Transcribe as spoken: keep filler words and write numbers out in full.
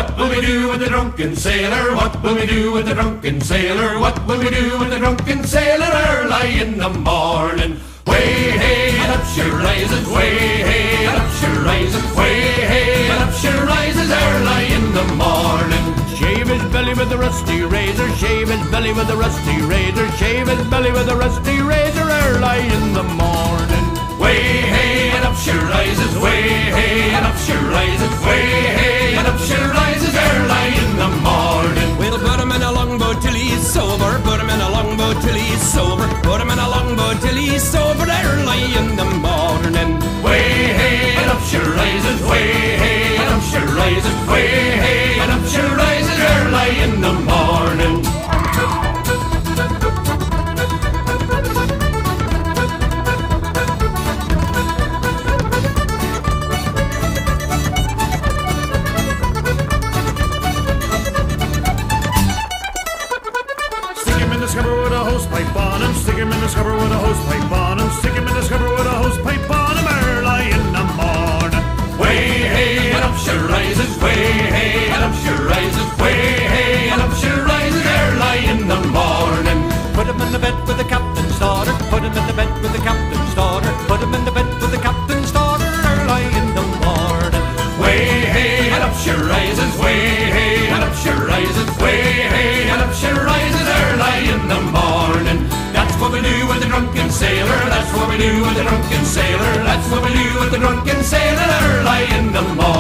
What will we do with the drunken sailor? What will we do with the drunken sailor? What will we do with the drunken sailor early in the morning? Way hey and up she rises, way hey and up she rises, way hey and up she rises early in the morning. Shave his belly with a rusty razor, shave his belly with a rusty razor, shave his belly with a rusty razor early in the morning. Way hey and up she rises, way hey and up she rises, way hey and up she rises early in the morning. We'll put him in a longboat till he's sober, put him in a longboat till he's sober, put him in a longboat till he's sober early in the morning. Way hey and up she rises, way hey and up she rises, way hey and up she rises early in the morning. Stick him in the scupper with a hosepipe on him, stick him in the scupper with a hosepipe on him, stick him in the scupper with a hosepipe on him early in the morning. Way hey and up she rises, way hey and up she rises, way hey and up she rises early in the morning. Put him in the bed with the captain's daughter, put him in the bed with the captain's daughter, put him in the bed with the captain's daughter early in the morning. Way hey and up she rises, way hey and up she rises, way hey and up she rises early in the morning. That's what we do with the drunken sailor, that's what we do with the drunken sailor, that's what we do with the drunken sailor early in the morning.